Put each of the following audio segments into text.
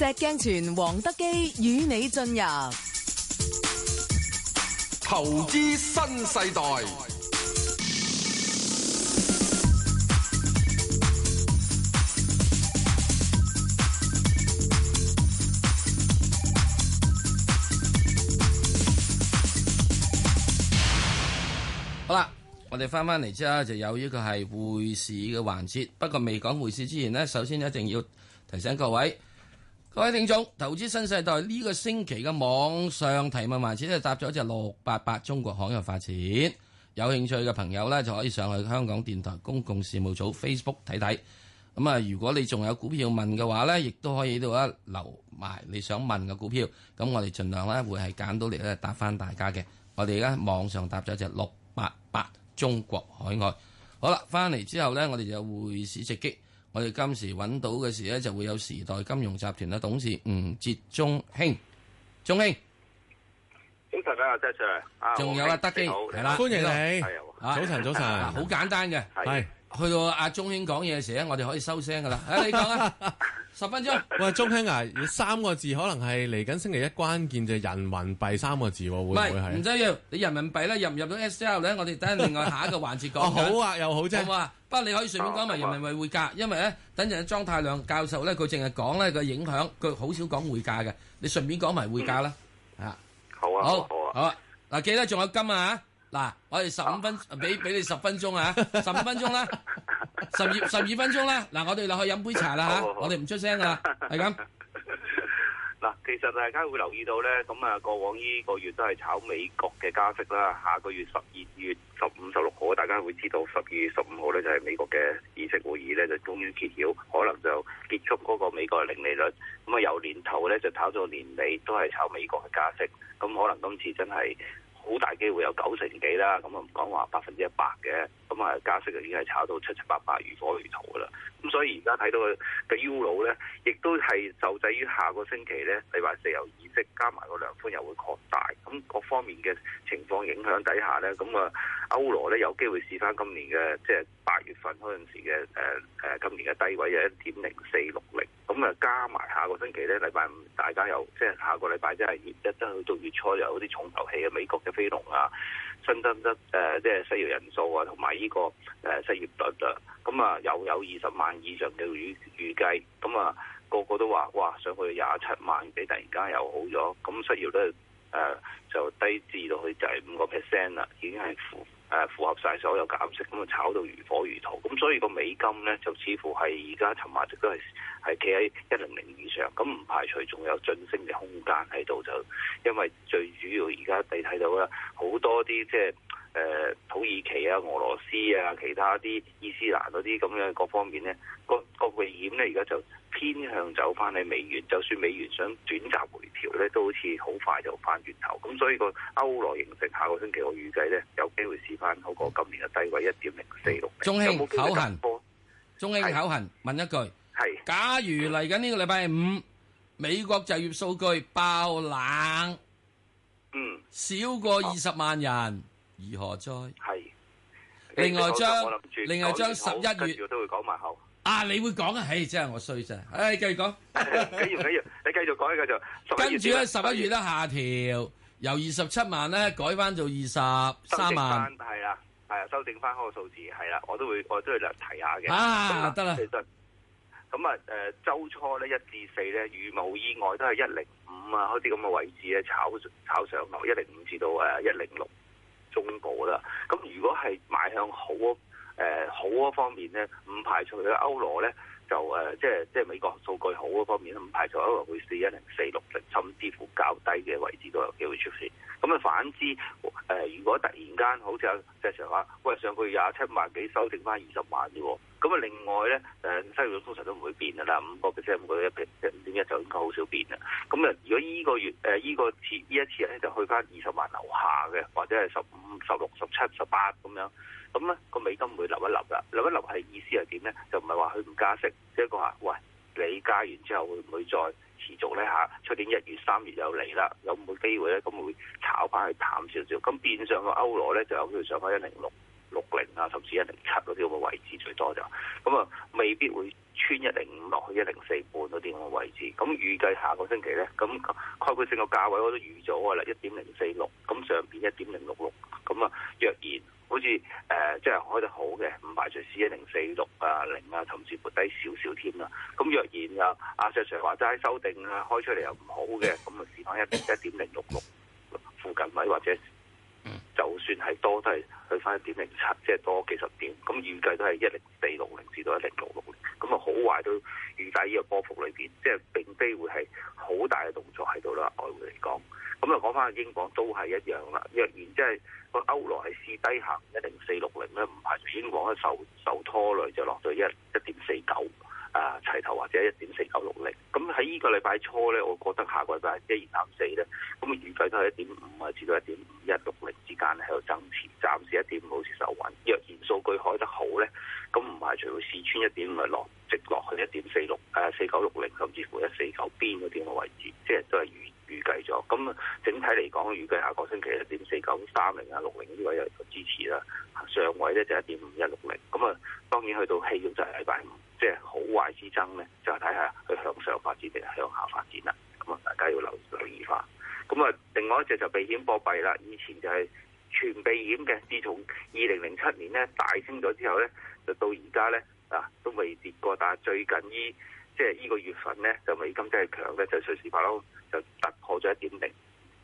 石鏡泉黃德基與你進入投資新世代。 好啦，我哋翻嚟之後就有呢個係匯市嘅環節。不過未講匯市之前呢，首先一定要提醒各位聽眾，投資新世代呢個星期嘅網上提問環節咧，答咗一隻688中國海外發展。有興趣嘅朋友呢，就可以上去香港電台公共事務組 Facebook 睇睇。咁啊，如果你仲有股票問嘅話呢，亦都可以喺度留埋你想問嘅股票。咁我哋盡量呢會係揀到嚟咧答翻大家嘅。我哋而家網上答咗一隻688中國海外。好啦，翻嚟之後呢，我哋就有匯市直擊。我哋今時揾到嘅時呢，就會有時代金融集團嘅董事吳捷鐘兄，鐘兄， 早晨啊，謝 Sir， 仲有德基，係啦， 歡迎你， 早晨，好簡單嘅，係去到阿鐘兄講嘢嘅時候，我哋可以收聲噶啦。你講啊，10分鐘。 喂，鐘兄啊，3個字可能係嚟緊星期一關鍵就係人民幣3個字喎，會唔會係？ 唔使要，你人民幣咧入唔入到 SL 咧？我哋等另外下一個環節講。 好啊，又好啫。 好啊，不過你可以順便講埋人民幣匯價，因為咧等陣莊太量教授咧，佢淨係講咧個影響，佢好少講匯價嘅。你順便講埋匯價啦， 啊，好啊， 好啊。嗱，記得仲有金啊！嗱，我哋15分，俾你10分鐘啊，15分鐘啦，12分鐘啦。嗱，我哋落去飲杯茶啦嚇，我哋唔出聲噶啦，係咁。 嗱，其實大家會留意到咧，咁啊，過往呢個月都係炒美國嘅加息啦。下個月12月15、16號，大家會知道12月15號咧就係美國嘅議息會議咧就終於揭曉，可能就結束嗰個美國嘅零利率。咁啊，由年頭咧就炒到年尾都係炒美國嘅加息。咁可能今次真係好大機會有90%幾啦，咁啊唔講話100%嘅，咁啊加息就已經係炒到7、7、8、8如火如荼噶啦。咁所以而家睇到嘅 Euro 咧，亦都係受制於下個星期咧，禮拜四有議息，加埋個量寬又會擴大，咁各方面嘅情況影響底下咧，咁啊歐羅咧有機會試翻今年嘅即係8月份嗰陣時嘅今年嘅低位嘅1.0460，咁啊加埋下個星期咧，禮拜五大家又即係下個禮拜即係月一真去到月初有啲重頭戲嘅美國嘅非農啊，新增即係失業人數啊，同埋呢個失業率啊，咁啊又有20萬以上嘅預計，咁啊個個都話哇上去27萬幾，突然間又好咗，咁失業率就低至到去就係5% 啦，已經係符合晒所有減息，咁啊炒到如火如荼，咁所以個美金咧就似乎係而家尋晚亦都係企喺100以上，咁唔排除仲有晉升嘅空間喺度，就因為最主要而家你睇到啦，好多啲即係土耳其啊、俄羅斯啊、其他啲伊斯蘭嗰啲咁樣各方面咧，個避險咧而家就偏向走翻喺美元，就算美元想短暫回調咧，都好似好快就翻轉頭。咁所以個歐羅形成下個星期我預計咧有機會試翻好過今年嘅低位1.0460。 中興口痕，中興口痕問一句，係假如嚟緊呢個禮拜五，美國就業數據爆冷，少過20萬人，如何哉？係。另外將11月都會講埋後。 啊！你會講啊？唉，真係我衰真係。繼續講。 緊要，你繼續講，繼續。 跟住咧11月咧下調，由27萬咧改翻做23萬。 係啦，修正翻嗰個數字係啦，我都會嚟提下嘅。 啊，得啦。 其實咁啊，週初咧1至4咧，如無意外都係105啊，嗰啲咁嘅位置咧炒上落105至到106中部啦。咁如果係邁向好嗰方面咧，唔排除嘅歐羅咧就即係美國數據好嗰方面咧，唔排除歐羅會試10460，甚至乎較低嘅位置都有機會出現。咁啊反之，如果突然間好似阿石 Sir 話，喂上個月27萬幾，修正翻20萬啫喎。咁啊另外咧，失業率通常都唔會變㗎啦，5%、5.1%就應該好少變啦。咁啊，如果依個月呢一次咧就去翻20萬樓下嘅，或者係15、16、17、18咁樣。咁咧個美金會立一立啦，立一立係意思係點咧？就唔係話佢唔加息，即係講話，喂，你加完之後會唔會再持續咧嚇？出年1月、3月又嚟啦，有冇機會咧？咁會炒翻去淡少少，咁變相個歐羅咧就有機會上翻10660啊，甚至107嗰啲咁嘅位置最多就，咁啊未必會穿105落去104半嗰啲咁嘅位。 位置。咁預計下個星期咧，咁概括性個價位我都預咗㗎啦，1.046，咁上邊1.066，咁啊若然好似即係開得好嘅，唔排除試1.046啊0啊，甚至乎低少少添啦。咁若然啊阿 Sir 話齋修訂啊，開出嚟又唔好嘅，咁啊試翻1.066附近位或者。就算係多都係去翻1.07，即係多幾十點。咁預計都係10460至到10660。咁啊好壞都預計呢個波幅裏邊，即係並非會係好大嘅動作喺度啦。外匯嚟講，咁啊講翻英鎊都係一樣啦。若然即係個歐羅係試低行10460咧，唔排除英鎊咧受拖累就落到1.49。齊頭或者1.4960，咁喺呢個禮拜初咧，我覺得下個禮拜1.234咧，咁預計都係1.5啊至到1.5160之間喺度增持，暫時1.5好似受穩。若然數據開得好咧，咁唔排除會試穿1.5直落去1.4960，甚至乎149邊嗰啲嘅位置，即係都係預計咗。咁整體嚟講，預計下個星期1.4930啊60呢啲位有個支持啦，上位咧就1.5160。咁啊，當然去到氣温就係禮拜5。即係好壞之爭咧，就係睇下佢向上發展定係向下發展啦。咁啊，大家要留意翻。咁啊，另外一隻就避險貨幣啦。以前就係全避險嘅，自從2007年咧大升咗之後咧，就到而家咧都未跌過。但係最近即係呢個月份咧，就美金真係強咧，就瑞士法郎就突破咗1.0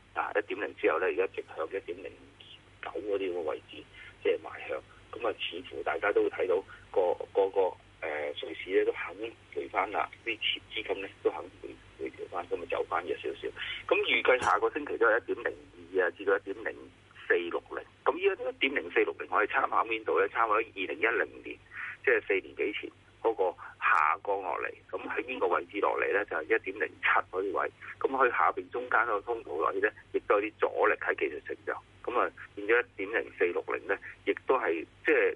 1.0之後咧，而家直向1.09嗰啲嘅位置，即係邁向。咁啊，似乎大家都會睇到個瑞士咧都肯回翻啦，啲資金咧都肯回調翻，咁啊走翻咗少少。咁預計下個星期都係1.02啊，至到1.0460。咁呢個1.0460可以參考邊度咧？參考2010年，即係4年幾前嗰個下降落嚟。咁喺邊個位置落嚟咧？就係1.07嗰啲位。咁佢下邊中間嗰個通道落去咧，亦都有啲阻力喺技術性就。咁啊變咗1.0460咧，亦都係即係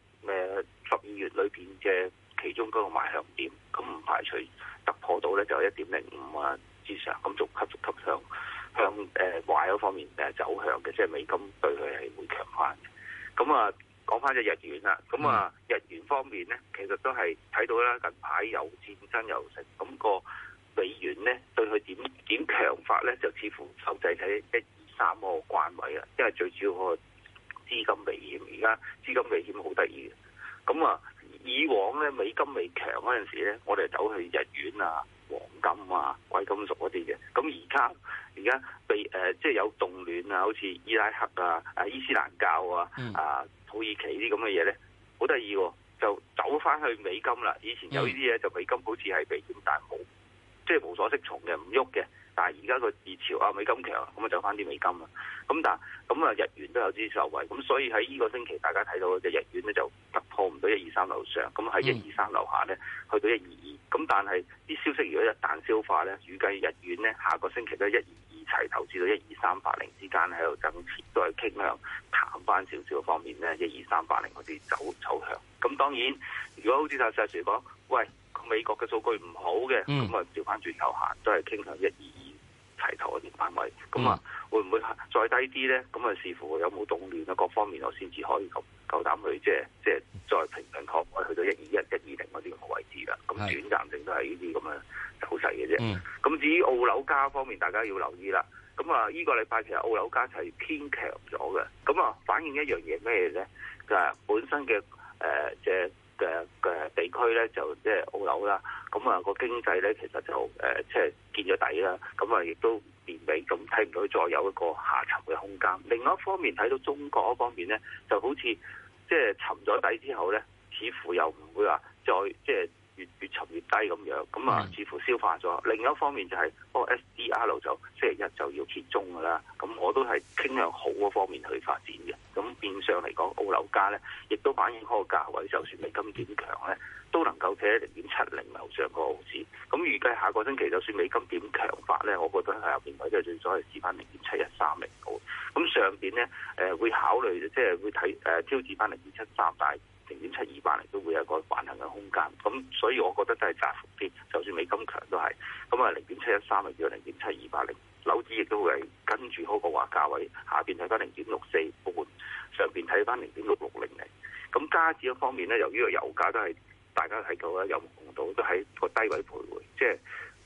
12月裏邊嘅。其中嗰個賣向點，咁唔排除突破到咧就1.05啊之上，咁逐級向壞嗰方面走向嘅，即係美金對佢係會強翻嘅。咁啊講翻隻日元啦，咁啊日元方面咧，其實都係睇到啦，近排有戰爭又成，咁個美元咧對佢點強法咧，就似乎受制喺123嗰個關位啊，因為最主要嗰個資金避險，而家資金避險好得意嘅，咁啊。以往咧美金未強嗰陣時咧，我哋走去日元啊、黃金啊、貴金屬嗰啲嘅。咁而家被即係有動亂啊，好似伊拉克啊、伊斯蘭教啊、土耳其啲咁嘅嘢咧，好得意喎，就走翻去美金啦。以前有呢啲嘢就美金好似係避險，但係冇即係無所適從嘅，唔喐嘅。但係而家個熱潮啊，美金強，咁啊走翻啲美金啦。咁日元都有啲受惠，咁所以喺呢個星期大家睇到嘅日元咧就突破唔到123樓上，咁喺123樓下咧去到122。咁但係啲消息如果一旦消化咧，預計日元咧下個星期都122齊頭至到12380之間喺度增持，都係傾向淡翻少少方面咧12380嗰啲走向。咁當然，如果好似阿石 Sir 講，喂美國嘅數據唔好嘅，咁啊調翻轉頭行，都係傾向122。齊頭嗰啲範圍，咁會唔會再低啲咧？咁啊視乎有冇動亂啊，各方面我先至可以夠膽去即係再平衡確位去到121、120嗰啲咁嘅位置啦。咁短暫性都係呢啲咁嘅走勢嘅啫。咁至於澳紐加方面，大家要留意啦。咁啊，呢個禮拜其實澳紐加係偏強咗嘅。咁啊，反映一樣嘢咩咧？就係本身嘅嘅地區咧，就即係澳紐啦。咁啊，個經濟咧其實就即係見咗底啦。咁啊，亦都年尾咁睇唔到再有一個下沉嘅空間。另外一方面睇到中國嗰方面咧，就好似即係沉咗底之後咧，似乎又唔會話再即係越沉越低咁樣。咁啊，似乎消化咗。另一方面就係嗰個 SDR 就星期一就要揭盅㗎啦。咁我都係傾向好嗰方面去發展嘅。咁變相嚟講，澳紐加咧，亦都反映嗰個價位，就算美金點強咧，都能夠企喺0.70樓上個毫子。咁預計下個星期就算美金點強法咧，我覺得係入邊位即係最所謂試翻0.7130好。咁上邊咧會考慮即係會睇挑戰翻0.73，但係0.7280都會有一個橫行嘅空間。咁所以我覺得都係窄幅啲，就算美金強都係。咁啊0.713咪叫0.7280。樓指亦都會係跟住嗰個話價位，下邊睇翻0.64半，上邊睇翻0.6600。咁加指嗰方面咧，由於個油價都係大家睇到啦，有目共睹都喺個低位徘徊，即係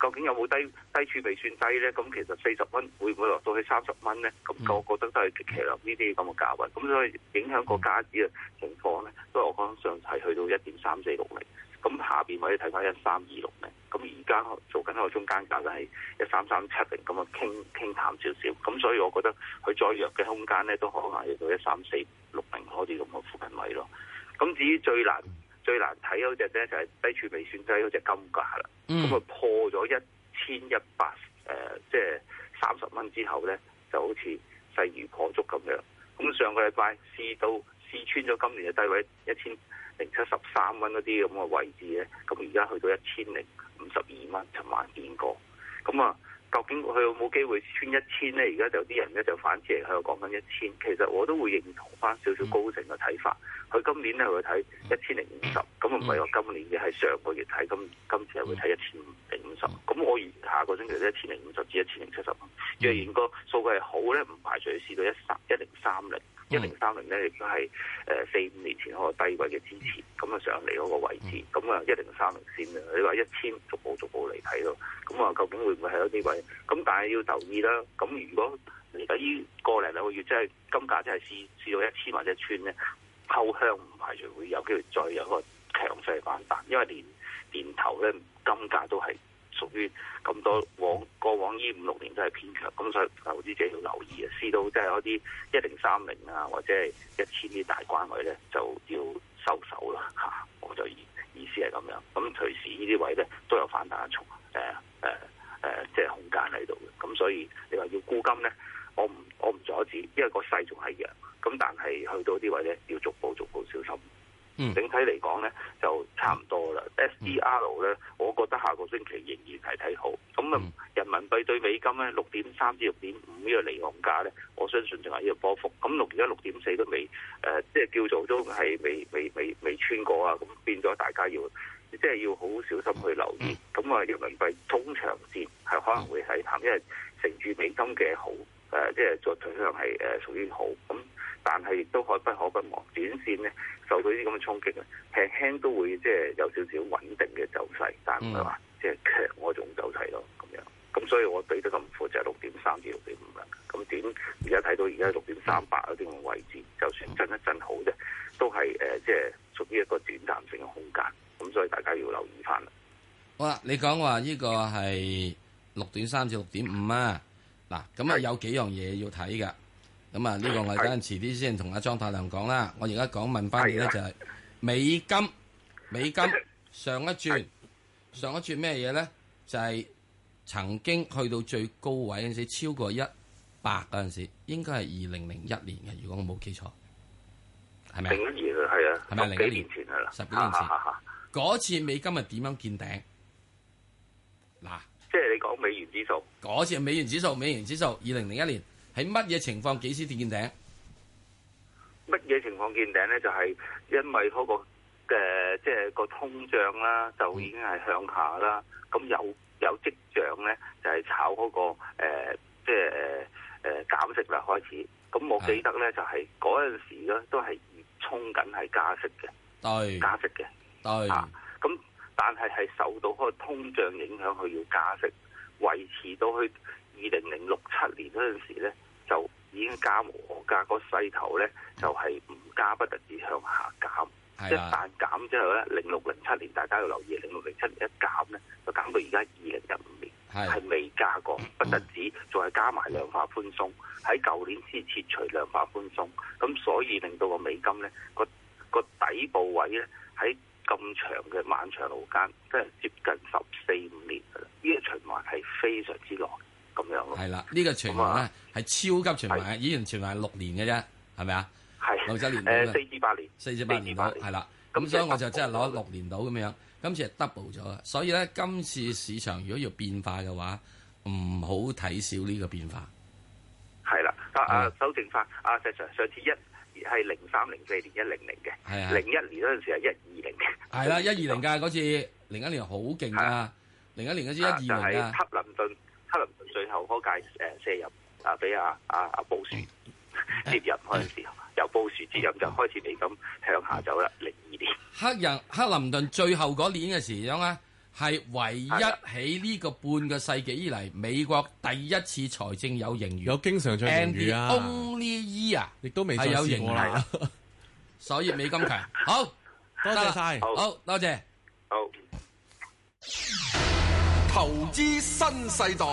究竟有冇低處未算低咧？咁其實40蚊會唔會落到去30蚊咧？咁我覺得都係極其量呢啲咁嘅價位。咁所以影響個價指嘅情況咧，都係我講上係去到1.3460。咁下邊可以睇翻13260咧。咁而家做緊一個中間價就係13370咁啊，傾淡少少。咁所以我覺得佢再弱嘅空間咧，都可能係到13460嗰啲咁嘅附近位咯。咁至於最難睇嗰隻咧，就係低處未算低嗰隻金價啦。咁啊破咗1100即係30蚊之後咧，就好似勢如破竹咁樣。咁上個禮拜試穿咗今年嘅低位1073蚊嗰啲咁嘅位置咧，咁而家去到1052蚊，尋晚見過。咁啊，究竟佢有冇機會穿1000咧？而家就啲人咧就反刺嚟喺度講緊1000。其實我都會認同翻少少高盛嘅睇法。佢今年咧會睇1050，咁唔係我今年嘅，係上個月睇，今次係會睇1050。咁我預下個星期咧1050至1070。若然個數據係好咧，唔排除試到1030。1030咧亦都係4-5年前嗰個低位嘅支持，咁啊上嚟嗰個位置，咁啊1030線啊，你話1000逐步嚟睇咯，咁啊究竟會唔會係有啲位？咁但係要留意啦，咁如果嚟緊呢個零兩個月即係金價真係試到1000或者穿咧，後向唔排除會有機會再有一個強勢反彈，因為年頭咧金價都係屬於咁多過往呢5-6年都係偏強，咁所以投資者要留意啊！試到即係嗰啲1030啊，或者係1000啲大關位咧，就要收手啦嚇！我就意思係咁樣。咁隨時呢啲位咧都有反彈嘅即係空間喺度嘅。咁所以你話要沽金咧，我唔阻止，因為個勢仲係弱。咁但係去到啲位咧，要逐步小心。整體嚟講咧，就差唔多啦。SDR 咧，我覺得下個星期仍然係睇好。咁啊，人民幣對美金咧6.3至6.5呢個離岸價咧，我相信仲係呢個波幅。咁而家6.4都未即係叫做都係未穿過啊。咁變咗大家要好小心去留意。咁啊，人民幣中長線係可能會睇淡，因為乘住美金嘅好即係作取向係屬於好咁。但係亦都不可不忘，短線咧受到呢啲咁嘅衝擊咧，輕都會即係有少少穩定嘅走勢，但唔係話即係強嗰種走勢咯，咁樣。咁所以我俾得咁闊就係6.3至6.5啦。咁點而家睇到而家6.38嗰啲咁嘅位置，就算震一震好啫，都係即係屬於一個短暫性嘅空間。咁所以大家要留意翻啦。 好啦，你講話呢個係6.3至6.5啊，嗱咁啊有幾樣嘢要睇㗎。咁啊，呢個我哋等陣遲啲先同阿莊太亮講啦。我而家問翻你咧，就係美金上一轉咩嘢咧？就係曾經去到最高位嗰陣時，超過100嗰陣時，應該係2001年嘅，如果我冇記錯，係咪啊？ 01年係啊，係咪 10幾年前係啦？10幾年前嗰次美金係點樣見頂？嗱， 即係你講美元指數， 嗰次係美元指數2001年。喺乜嘢情況幾時見頂？ 乜嘢情況見頂咧？就係因為嗰個即係個通脹啦，就已經係向下啦。咁有跡象咧，就係炒嗰個即係減息啦開始。咁我記得咧，就係嗰陣時咧都係衝緊係加息嘅， 對， 加息嘅， 對。 咁但係受到嗰個通脹影響，佢要加息，維持到去2006-7年嗰陣時咧。就已經加無可加，個勢頭咧就係唔加不特止向下減，一旦減之後咧，06-07年大家要留意，06-07年一減咧就減到而家2015年係未加過，不特止仲係加埋量化寬鬆，喺舊年先撤除量化寬鬆，咁所以令到個美金咧個底部位咧喺咁長嘅漫長路間，即係接近14-15年㗎啦，呢個循環係非常之耐。咁樣咯，係啦，呢個循環咧係超級循環，以前循環係6年嘅啫，係咪啊？係6至年 4至8年 ，4至8年到，係啦。咁所以我就真係攞6年到咁樣，今次係 double 咗。所以咧，今次市場如果要變化嘅話，唔好睇少呢個變化。 係啦，修正翻，石 Sir 上次係03-04年100嘅，係01年嗰陣時係120嘅， 係啦120㗎嗰次，01年好勁㗎，01年嗰次120㗎。 就係克林頓最後嗰屆卸任俾阿布殊接任嗰陣時候，由布殊接任就開始美金向下走啦。02年， 克林頓最後嗰年嘅時樣啊， 係唯一喺呢個半個世紀以嚟，美國第一次財政有盈餘， 有經常帳盈餘啊 And the only year 亦都未再係有盈餘試過啦。 所以美金強。好， 多謝晒， 好多謝。 好， 投資新世代。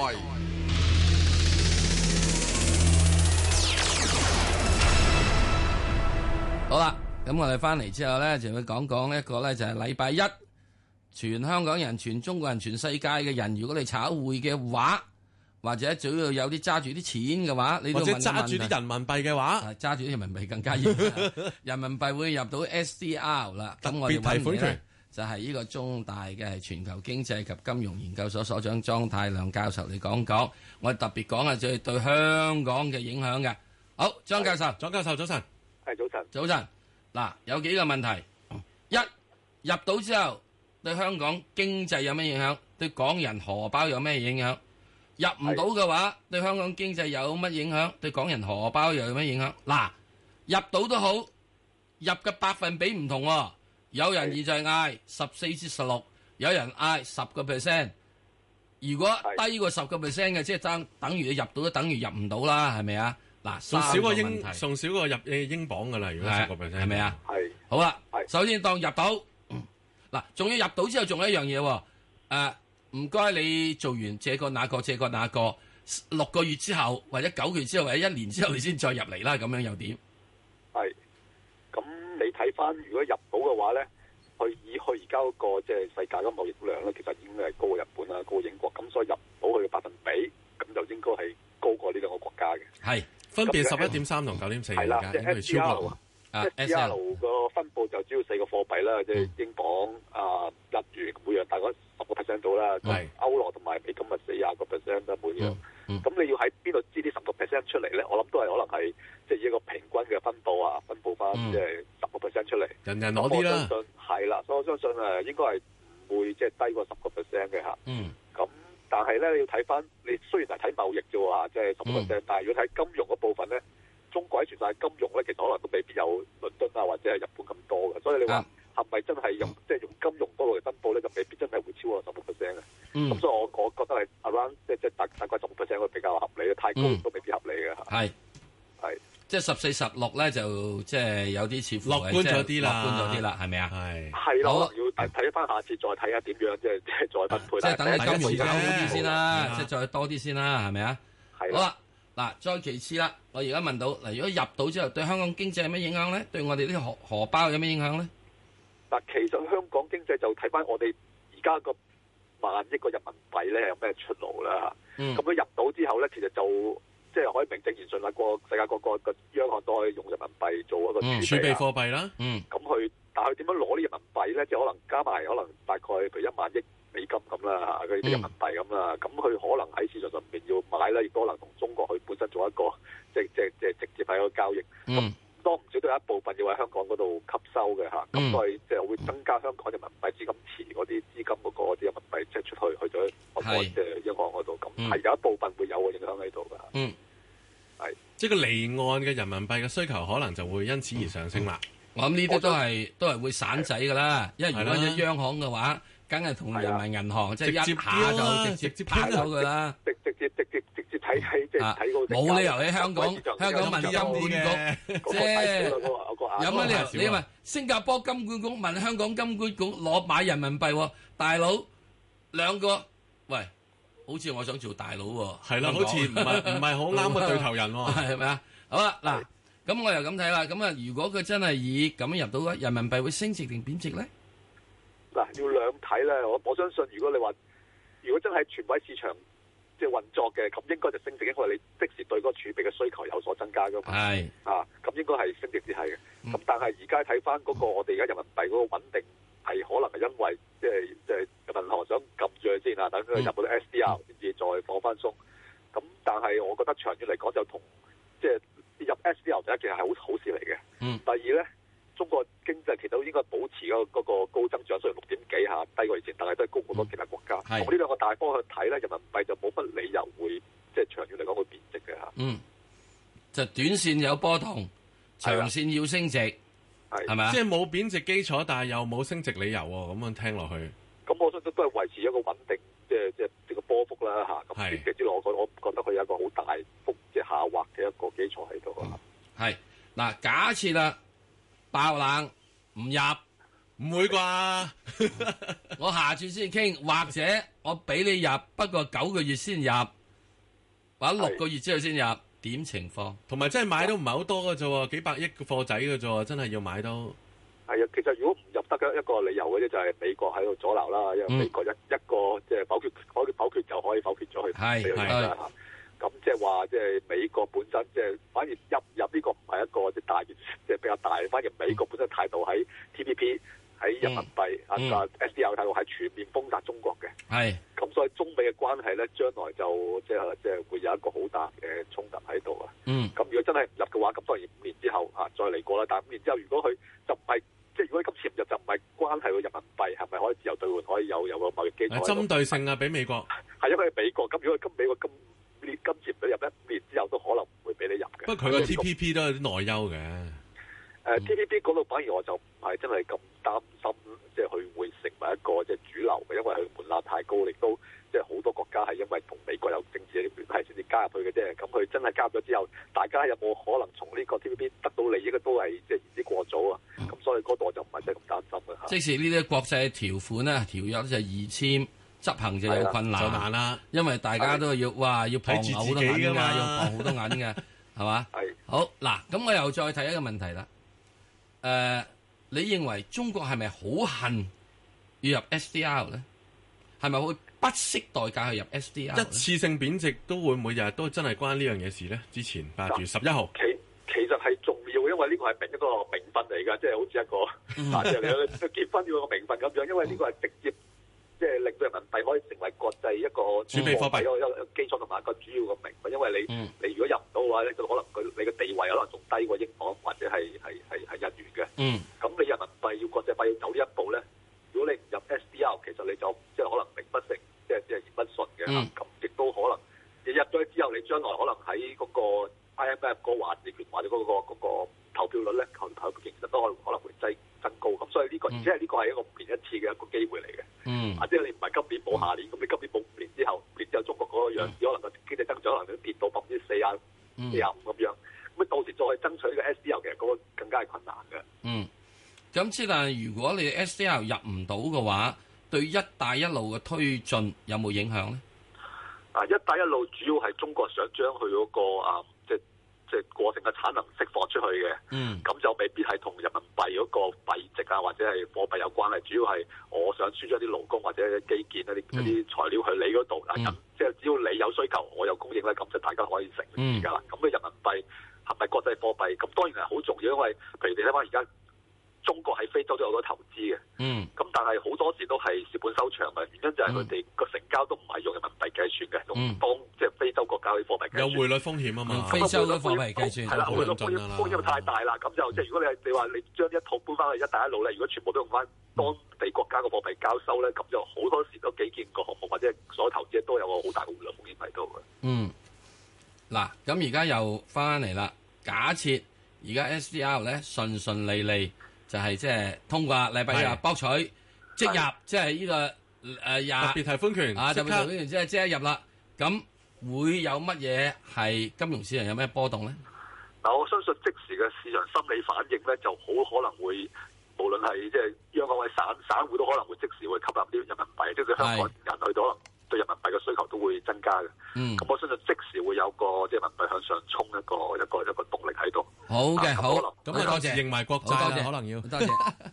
好啦，咁我哋翻嚟之後咧，就會講講一個咧，就係禮拜一，全香港人、全中國人、全世界嘅人，如果你炒匯嘅話，或者主要有啲揸住啲錢嘅話，你都或者問一問揸住啲人民幣嘅話， 揸住啲人民幣更加嚴。人民幣會入到 SDR 啦。咁我哋特別提款權就係呢個中大嘅係全球經濟及金融研究所所長莊太量教授嚟講講。我哋特別講係就係對香港嘅影響嘅。好，莊教授， 莊教授早晨。 係早晨。 早晨。嗱，有幾個問題。一入到之後，對香港經濟有咩影響？對港人荷包有咩影響？入唔到嘅話，對香港經濟有乜影響？對港人荷包又有咩影響？嗱，入到都好，入嘅百分比唔同喎。有人而就係嗌14至16，有人嗌10%。如果低過10%嘅，即係等於你入到都等於入唔到啦，係咪啊？嗱， 仲少過問題仲少過入英鎊噶啦，如果10% 係咪啊？ 係。 好啦， 係首先當入到，嗱，仲要入到之後，仲有一樣嘢喎。唔該，你做完這個那個6個月之後，或者9個月之後，或者1年之後，你先再入嚟啦。咁樣又點？ 係。咁你睇翻，如果入到嘅話咧，以佢而家嗰個即係世界嘅貿易量咧，其實已經係高過日本啦，高過英國。咁所以入到佢嘅百分比，咁就應該係高過呢兩個國家嘅。 係。 分別11.3同9.4 係啦，即係 SDR 個分佈就主要4個貨幣啦，即係英鎊、日元，每樣大概10% 到啦。 係歐羅同埋美金咪40%啦，每樣。咁你要喺邊度知啲10% 出嚟咧？我諗都係可能係即係以一個平均嘅分佈翻即係10% 出嚟。 人人攞啲啦。 我相信係啦，所以我相信應該係唔會即係低過10% 嘅嚇。咁但係咧，你要睇翻，你雖然係睇貿易啫喎，即係10%，但係如果睇金融嗰部分咧，中國喺全世界金融咧，其實可能都未必有倫敦啊或者係日本咁多嘅，所以你話係咪真係用即係用金融嗰度嚟分佈咧，就未必真係會超過10%嘅。咁所以我覺得係 around 即係大概10%會比較合理嘅，太高都未必合理嘅嚇。係。即係 14、16咧，就即係有啲似乎樂觀咗啲啦， 樂觀咗啲啦，係咪啊？ 係咯，要睇翻下次再睇下點樣，即係再分配。 即係等你金融搞好啲先啦，即係再多啲先啦，係咪啊？ 係。 好啦，嗱，再其次啦，我而家問到嗱，如果入到之後，對香港經濟有咩影響咧？對我哋啲荷包有咩影響咧？ 嗱，其實香港經濟就睇翻我哋而家個萬億個人民幣咧有咩出路啦。咁佢入到之後咧，其實就即係可以名正言順啦，世界各個央行都可以用人民幣做一個儲備貨幣啦。 咁佢，但係佢點樣攞啲人民幣咧？即係可能加埋，可能大概譬如1萬億美金咁啦，佢啲人民幣咁啦。咁佢可能喺市場上面要買啦，亦都可能同中國佢本身做一個即係直接喺個交易。咁多唔少都有一部分要喺香港嗰度吸收嘅嚇。咁所以即係會增加香港人民幣資金池嗰啲資金嗰個啲人民幣即係出去咗即係央行嗰度。咁係有一部分會有個影響喺度㗎。 即係個離岸嘅人民幣嘅需求可能就會因此而上升啦。 我諗呢啲都係會散仔㗎啦，因為如果有央行嘅話，梗係同人民銀行即係一下就直接拍走佢啦。 直接睇即係睇嗰個冇理由喺香港問金管局，即係有乜理由？你問新加坡金管局問香港金管局攞買人民幣喎，大佬兩個喂。好似我想做大佬喎， 係啦，好似唔係好啱嘅對頭人喎， 係咪啊？好啦，嗱，咁我又咁睇啦，咁啊，如果佢真係以咁樣入到嘅人民幣會升值定貶值咧？ 嗱，要兩睇咧，我相信如果你話如果真係全位市場即係運作嘅，咁應該就升值，因為你即時對嗰個儲備嘅需求有所增加噶嘛。係咁應該係升值至係嘅。咁但係而家睇翻嗰個我哋而家人民幣嗰個穩定。係可能係因為即係銀行想撳住佢先啊，等佢入到 SDR 先至再放翻鬆。咁但係我覺得長遠嚟講就同即係入 SDR 第一件係好事嚟嘅。第二咧，中國經濟其實都應該保持嗰個高增長，雖然6點幾下低過以前，但係都係高好多其他國家。從呢兩個大方向睇咧，人民幣就冇乜理由會即係長遠嚟講會貶值嘅嚇。 就短線有波動，長線要升值。係咪啊？ 即係冇貶值基礎，但係又冇升值理由喎。咁樣聽落去， 咁我相信都係維持個穩定，即係個波幅啦嚇。咁短期之內，我覺得佢有一個好大幅即係下滑嘅一個基礎喺度啊。 係嗱，假設啦，爆冷唔入， 唔會啩？ 我下次先傾，或者我俾你入，不過9個月先入，或者6個月之後先入，點情況？ 同埋真係買都唔係好多嘅啫喎，幾百億嘅貨仔嘅啫喎，真係要買到。 係啊，其實如果唔入得嘅一個理由嘅啫，就係美國喺度阻撓啦，因為美國一個即係否決就可以否決咗佢。係。咁即係話，即係美國本身即係反而入呢個唔係一個即係大即係比較大，反而美國本身態度喺 TPP 喺人民幣SDR 態度係全面封殺中國嘅。係。咁所以中美嘅關係咧，將來就即係會有一個好大嘅衝突喺度啊。咁如果真係唔入嘅話，咁當然5年之後再嚟過啦。但係5年之後，如果佢就唔係即係如果今次唔入就唔係關係個人民幣係咪可以自由兌換，可以有個貿易基礎。 針對性啊，俾美國。係因為美國咁，如果美國今次唔俾入咧，5年之後都可能唔會俾你入嘅。不過佢個 TPP 都有啲內憂嘅。TPP 嗰度反而我就唔係真係咁擔心，即係佢會成為一個即係主流嘅，因為佢門檻太高，亦都即係好多國家係因為同美國有政治嘅聯繫先至加入去嘅啫。咁佢真係加入咗之後，大家有冇可能從呢個 TPP 得到利益嘅都係即係言之過早啊。咁所以嗰度我就唔係真係咁擔心嘅。 即使呢啲國際條款咧、條約就易簽。執行就有困難，就難啦，因為大家都要要傍好多銀㗎，要傍好多銀嘅，係嘛？係。好嗱，咁我又再睇一個問題啦。你認為中國係咪好恨要入 SDR 咧？係咪會不惜代價去入 SDR？ 一次性貶值都會每日都真係關呢樣嘢事咧？之前8月11號， 其實係重要，因為呢個係一個名分嚟㗎，即係好似一個即係你結婚要個名分咁樣，因為呢個係直接。即係令到人民幣可以成為國際一個儲備貨幣一個基礎同埋一個主要嘅名分，因為你如果入唔到嘅話咧，就可能你嘅地位可能仲低過英鎊或者係日元嘅。咁你人民幣要國際化要走呢一步咧，如果你唔入 SDR， 其實你就即係可能名不成，即係言不順嘅。咁亦都可能你入咗之後，你將來可能喺嗰個 IMF 個話事權或者嗰個投票率咧，投票其實都可能會增高。咁所以呢個而且係呢個係一個5年一次嘅一個機會嚟嘅。即係你唔係今年冇下年，咁你今年冇5年之後中國嗰個樣子可能個經濟增長可能跌到40%、45%咁樣，咁到時再爭取呢個 SDR 其實嗰個更加係困難嘅。 咁之但係如果你 SDR 入唔到嘅話，對一帶一路嘅推進有冇影響咧？ 一帶一路主要係中國想將佢嗰個即係過剩嘅產能釋放出去嘅，咁就未必係同人民幣嗰個幣值啊或者係貨幣有關係，主要係我想輸咗啲勞工或者基建一啲材料去你嗰度，即係只要你有需求，我有供應咧，咁就大家可以成而家啦。咁嘅人民幣係咪國際貨幣？咁當然係好重要，因為譬如你睇翻而家中國喺非洲都有好多投資嘅，咁但係好多時都係蝕本收場嘅，原因就係佢哋個成交都唔係用人民幣計算嘅，用當即係非洲國家啲貨幣計算。 有匯率風險啊嘛， 非洲嘅貨幣計算係啦，匯率風險太大啦，咁就即係如果你話你將一套搬翻去一帶一路咧，如果全部都用翻當地國家嘅貨幣交收咧，咁就好多時都基建個項目或者所有投資都有個好大嘅匯率風險喺度嘅。 嗱，咁而家又翻嚟啦，假設而家 SDR 咧順順利利。就係即係通過禮拜日博取即入，即係呢個特別提款權特別提款權即係入啦。咁會有乜嘢係金融市場有咩波動咧？ 嗱，我相信即時嘅市場心理反應咧，就好可能會無論係即係央行或者散戶都可能會即時會吸納啲人民幣，即係香港人去到可能對人民幣嘅需求都會增加嘅。咁我相信即時會有個即係人民幣向上衝一個動力喺度。 好嘅，好， 咁啊，多謝認埋國債啦，可能要多謝。